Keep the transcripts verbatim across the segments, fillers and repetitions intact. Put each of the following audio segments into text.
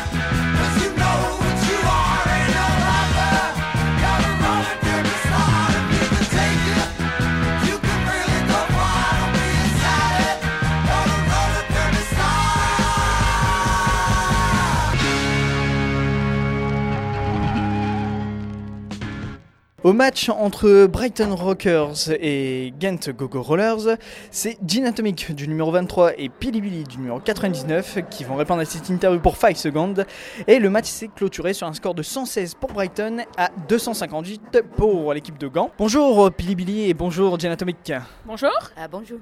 Au match entre Brighton Rockers et Ghent Go-Go Rollers, c'est Gin Atomic du numéro vingt-trois et Pili Billy du numéro quatre-vingt-dix-neuf qui vont répondre à cette interview pour cinq secondes. Et le match s'est clôturé sur un score de cent seize pour Brighton à deux cent cinquante-huit pour l'équipe de Gand. Bonjour Pili Billy et bonjour Gin Atomic. Bonjour. Uh, bonjour.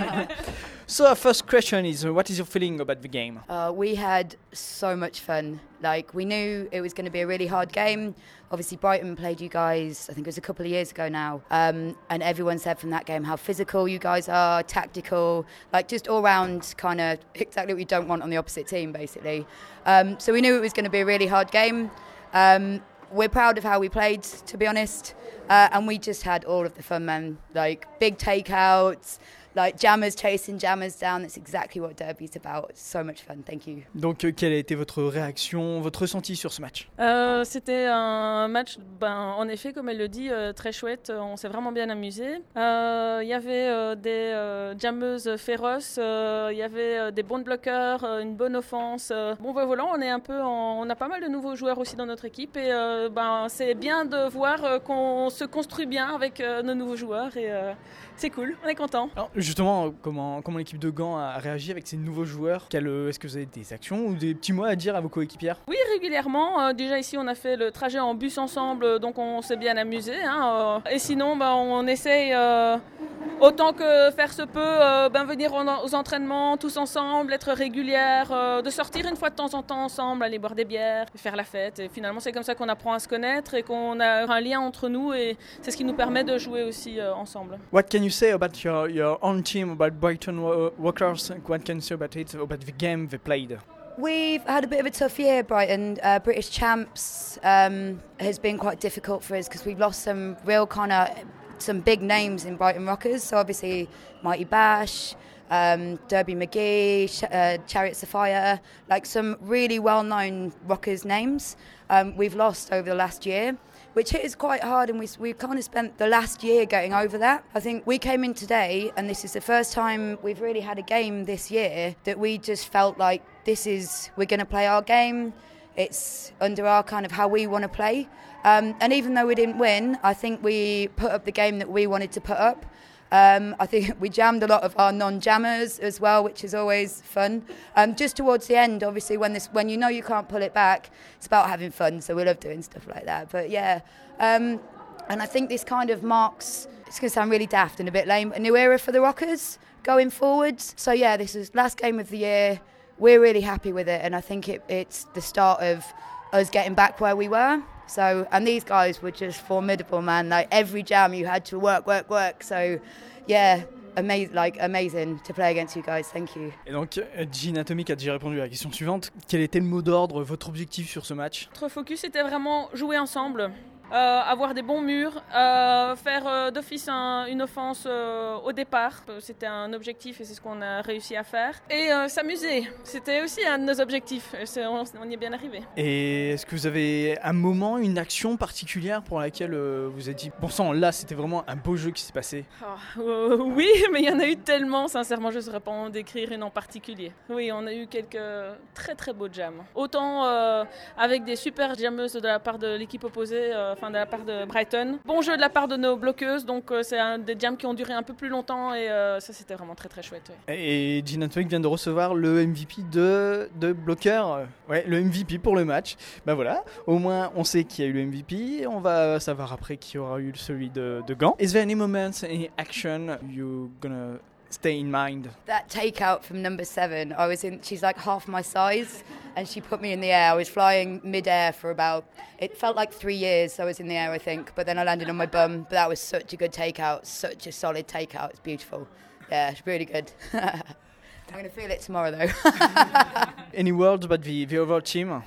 So our first question is, what is your feeling about the game? Uh, we had so much fun. Like, we knew it was going to be a really hard game. Obviously, Brighton played you guys, I think it was a couple of years ago now. Um, and everyone said from that game how physical you guys are, tactical, like just all round kind of exactly what you don't want on the opposite team, basically. Um, so we knew it was going to be a really hard game. Um, we're proud of how we played, to be honest. Uh, and we just had all of the fun, man. Like, big takeouts, like jammers chasing jammers down. That's exactly what Derby is about. It's so much fun. Thank you. Donc, euh, quelle a été votre réaction, votre ressenti sur ce match? euh, C'était un match, ben, en effet, comme elle le dit, euh, très chouette. On s'est vraiment bien amusé. Il euh, y avait euh, des euh, jammeuses féroces, il euh, y avait euh, des bons bloqueurs, euh, une bonne offense. Euh. Bon, ben, voilà, on est un peu, en, on a pas mal de nouveaux joueurs aussi dans notre équipe et euh, ben, c'est bien de voir euh, qu'on se construit bien avec euh, nos nouveaux joueurs et euh, c'est cool. On est content. Alors, justement, comment, comment l'équipe de Gand a réagi avec ces nouveaux joueurs? Quel, Est-ce que vous avez des actions ou des petits mots à dire à vos coéquipières? Oui, régulièrement. Euh, déjà ici, on a fait le trajet en bus ensemble, donc on s'est bien amusé. Hein, euh. Et sinon, bah, on essaye, euh, autant que faire se peut, euh, ben, venir aux entraînements tous ensemble, être régulière, euh, de sortir une fois de temps en temps ensemble, aller boire des bières, faire la fête. Et finalement, c'est comme ça qu'on apprend à se connaître et qu'on a un lien entre nous et c'est ce qui nous permet de jouer aussi euh, ensemble. What can you say about your, your own team, about Brighton Rockers? What can you say about it, about the game they played? We've had a bit of a tough year, Brighton. Uh, British champs um, has been quite difficult for us because we've lost some real kind of some big names in Brighton Rockers. So obviously Mighty Bash, um, Derby McGee, Sh- uh, Chariots of Fire, like some really well-known Rockers names um, we've lost over the last year, which hit us quite hard, and we we kind of spent the last year getting over that. I think we came in today, and this is the first time we've really had a game this year that we just felt like this is, we're going to play our game. It's under our kind of how we want to play. Um, and even though we didn't win, I think we put up the game that we wanted to put up. Um, I think we jammed a lot of our non-jammers as well, which is always fun. Um, just towards the end, obviously, when this, when you know you can't pull it back, it's about having fun. So we love doing stuff like that. But yeah, um, and I think this kind of marks, it's going to sound really daft and a bit lame, a new era for the Rockers going forwards. So yeah, this is last game of the year. We're really happy with it, and I think it, it's the start of us getting back where we were. So, and these guys were just formidable, man. Like every jam, you had to work, work, work. So, yeah, amazing, like amazing to play against you guys. Thank you. Et donc, Gin Atomic a déjà répondu à la question suivante. Quel était le mot d'ordre, votre objectif sur ce match? Notre focus était vraiment jouer ensemble. Euh, avoir des bons murs, euh, faire euh, d'office un, une offense euh, au départ. C'était un objectif et c'est ce qu'on a réussi à faire. Et euh, s'amuser, c'était aussi un de nos objectifs. C'est, on, on y est bien arrivé. Et est-ce que vous avez un moment, une action particulière pour laquelle euh, vous avez dit « Bon sang, là, c'était vraiment un beau jeu qui s'est passé ». Oh, euh, Oui, mais il y en a eu tellement, sincèrement, je ne saurais pas en décrire une en particulier. Oui, on a eu quelques très très beaux jams. Autant euh, avec des super jammeuses de la part de l'équipe opposée, euh, enfin de la part de Brighton. Bon jeu de la part de nos bloqueuses, donc euh, c'est un des jams qui ont duré un peu plus longtemps et euh, ça c'était vraiment très très chouette. Ouais. Et Gin Atomic vient de recevoir le M V P de, de bloqueur, ouais, le M V P pour le match. Ben voilà, au moins on sait qu'il y a eu le M V P, on va savoir après qui aura eu celui de, de Gand. Is there any moments, any action you gonna stay in mind? That takeout from number seven, I was in, she's like half my size and she put me in the air. I was flying mid-air for about, it felt like three years I was in the air, I think, but then I landed on my bum. But that was such a good takeout, such a solid takeout. It's beautiful. Yeah, it's really good. I'm going to feel it tomorrow though. Any words about the, the overall team?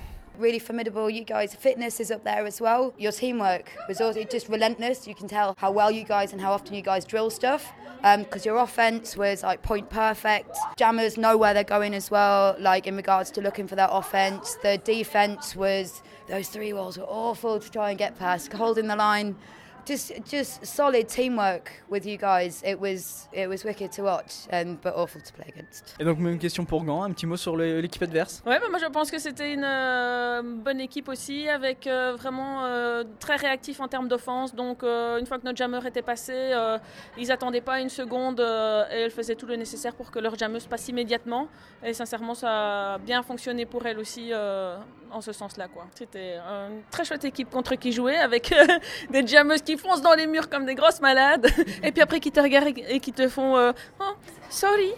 really formidable. You guys, fitness is up there as well. Your teamwork was also just relentless. You can tell how well you guys and how often you guys drill stuff. Because um, your offense was like point perfect. Jammers know where they're going as well, like in regards to looking for that offense. The defense was, those three walls were awful to try and get past, holding the line. Just, just solid teamwork with you guys. It was, it was wicked to watch, and but awful to play against. Et donc même question pour Gand, un petit mot sur le, l'équipe adverse. Ouais, bah moi je pense que c'était une euh, bonne équipe aussi, avec euh, vraiment euh, très réactif en termes d'offense. Donc euh, une fois que notre jammer était passé, euh, ils n'attendaient pas une seconde euh, et elles faisaient tout le nécessaire pour que leur jammeuse passe immédiatement. Et sincèrement, ça a bien fonctionné pour elles aussi euh, en ce sens-là, quoi. C'était une très chouette équipe contre qui jouer, avec euh, des jammeuses qui foncent dans les murs comme des grosses malades, et puis après qui te regardent et qui te font euh, oh, sorry.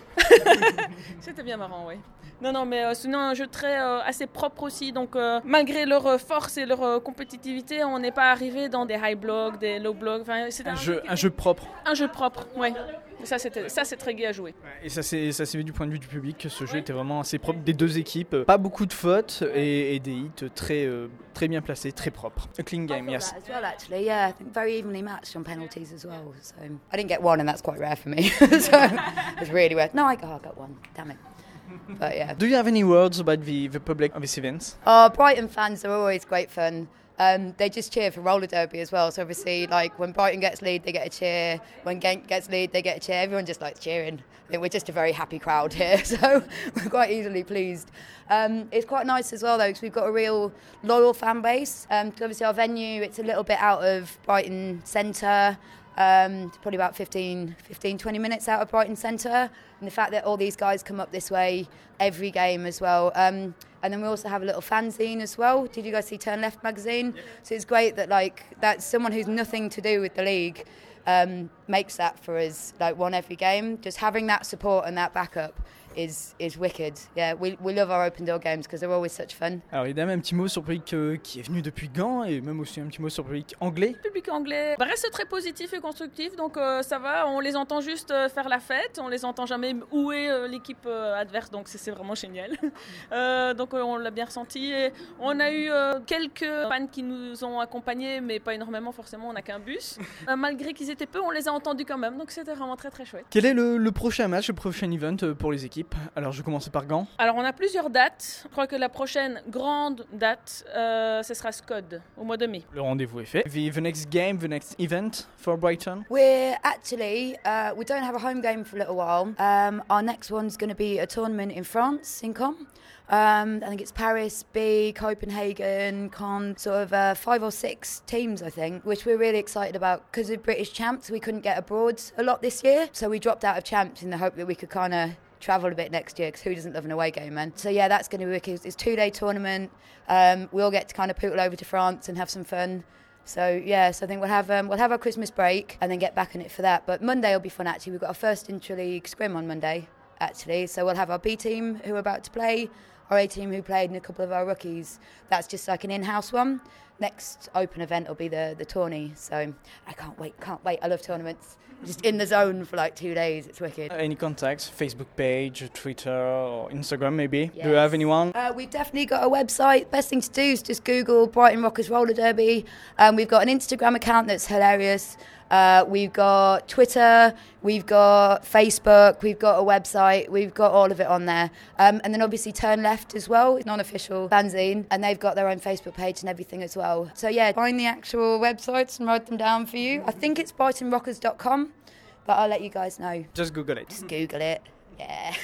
C'était bien marrant, oui. Non, non, mais euh, sinon un jeu très euh, assez propre aussi. Donc euh, malgré leur force et leur euh, compétitivité, on n'est pas arrivé dans des high blocks, des low blocks. Enfin, c'était un, un, jeu, jeu un jeu propre. Un jeu propre, oui. Ça, c'était, ça, c'est très gai à jouer. Et ça, c'est, ça s'est vu du point de vue du public que ce jeu était vraiment assez propre des deux équipes. Pas beaucoup de fautes et, et des hits très, euh, très bien placés, très propres. A clean game, yes. That as well, actually, yeah. I think very evenly matched on penalties as well. So I didn't get one, and that's quite rare for me. So it was really rare. No, I got, I got one. Damn it. But yeah. Do you have any words about the, the public of this event? Oh, Brighton fans are always great fun. Um, they just cheer for roller derby as well. So obviously, like when Brighton gets lead, they get a cheer. When Genk gets lead, they get a cheer. Everyone just likes cheering. I think we're just a very happy crowd here, so we're quite easily pleased. Um, it's quite nice as well though, because we've got a real loyal fan base. Um, obviously our venue, it's a little bit out of Brighton Centre. Um, probably about fifteen, twenty minutes out of Brighton Centre, and the fact that all these guys come up this way every game as well. Um, and then we also have a little fanzine as well. Did you guys see Turn Left magazine? Yeah. So it's great that like that's someone who's nothing to do with the league um, makes that for us, like one every game. Just having that support and that backup is is wicked. Yeah, we we love our open door games because they're always such fun. Alors évidemment un petit mot sur le public euh, qui est venu depuis Gand et même aussi un petit mot sur le public anglais. Le public anglais bah, reste très positif et constructif, donc euh, ça va. On les entend juste euh, faire la fête, on les entend jamais houer euh, l'équipe euh, adverse, donc c'est, c'est vraiment génial. euh, donc euh, on l'a bien ressenti. Et on a eu euh, quelques fans qui nous ont accompagnés, mais pas énormément forcément. On n'a qu'un bus. euh, malgré qu'ils étaient peu, on les a entendus quand même, donc c'était vraiment très très chouette. Quel est le, le prochain match, le prochain event pour les équipes? Alors je vais commencer par Gand. Alors on a plusieurs dates. Je crois que la prochaine grande date, euh, ce sera Scud, au mois de mai. Le rendez-vous est fait. The, the next game, the next event for Brighton? We're actually, uh, we don't have a home game for a little while. Um, our next one's going to be a tournament in France, in Caen. Um, I think it's Paris, B, Copenhagen, Caen, sort of uh, five or six teams, I think, which we're really excited about. Because of British champs, we couldn't get abroad a lot this year, so we dropped out of champs in the hope that we could kind of travel a bit next year, because who doesn't love an away game, man? So yeah, that's going to be wicked. It's a two-day tournament. Um, we all get to kind of poodle over to France and have some fun. So yeah, so I think we'll have um, we'll have our Christmas break and then get back on it for that. But Monday will be fun actually. We've got our first intra-league scrim on Monday actually. So we'll have our B team who are about to play, our A team who played, and a couple of our rookies. That's just like an in-house one. Next open event will be the the tourney. So I can't wait, can't wait. I love tournaments. Just in the zone for like two days. It's wicked. Uh, any contacts? Facebook page, Twitter, or Instagram maybe? Yes. Do you have anyone? Uh, we've definitely got a website. Best thing to do is just Google Brighton Rockers Roller Derby. Um, we've got an Instagram account that's hilarious. Uh, we've got Twitter, we've got Facebook, we've got a website, we've got all of it on there. Um, and then obviously Turn Left as well, non-official fanzine, and they've got their own Facebook page and everything as well. So yeah, find the actual websites and write them down for you. I think it's brighton rockers dot com, but I'll let you guys know. Just Google it. Just Google it, yeah.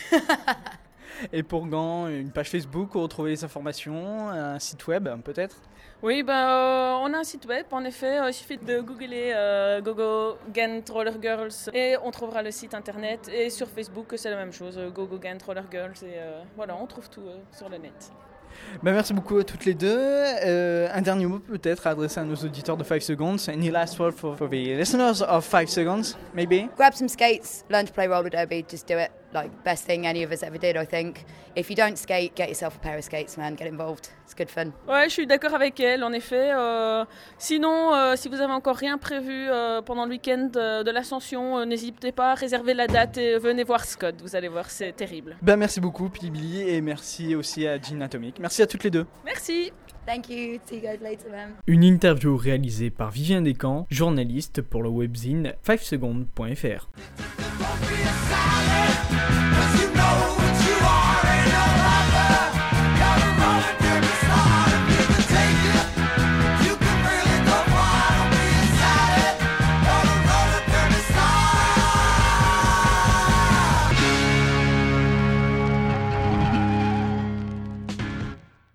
Et pour Gand, une page Facebook où retrouver les informations, un site web peut-être? Oui, ben, euh, on a un site web, en effet, euh, il suffit de googler euh, Gogo Ghent Roller Girls et on trouvera le site internet. Et sur Facebook, c'est la même chose, euh, Gogo Ghent Roller Girls, et euh, voilà, on trouve tout euh, sur le net. Ben merci beaucoup à toutes les deux. Euh, un dernier mot peut-être adressé à nos auditeurs de five seconds. Any last word for, for the listeners of five seconds, maybe? Grab some skates, learn to play roller derby, just do it. like best thing any of us ever did, I think. If you don't skate, get yourself a pair of skates, man. Get involved. It's good fun. Ouais, je suis d'accord avec elle, en effet. Euh, sinon, euh, si vous avez encore rien prévu euh, pendant le week-end euh, de l'Ascension, euh, n'hésitez pas à réserver la date et venez voir Scott. Vous allez voir, c'est terrible. Ben, merci beaucoup, Pilibili, et merci aussi à Gin Atomic. Merci à toutes les deux. Merci. Thank you. See you guys later, man. Une interview réalisée par Vivien Descamps, journaliste pour le webzine five seconds point f r.